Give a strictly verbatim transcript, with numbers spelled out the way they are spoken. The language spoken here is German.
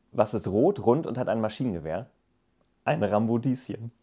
Was ist rot, rund und hat ein Maschinengewehr? Ein Rambodieschen.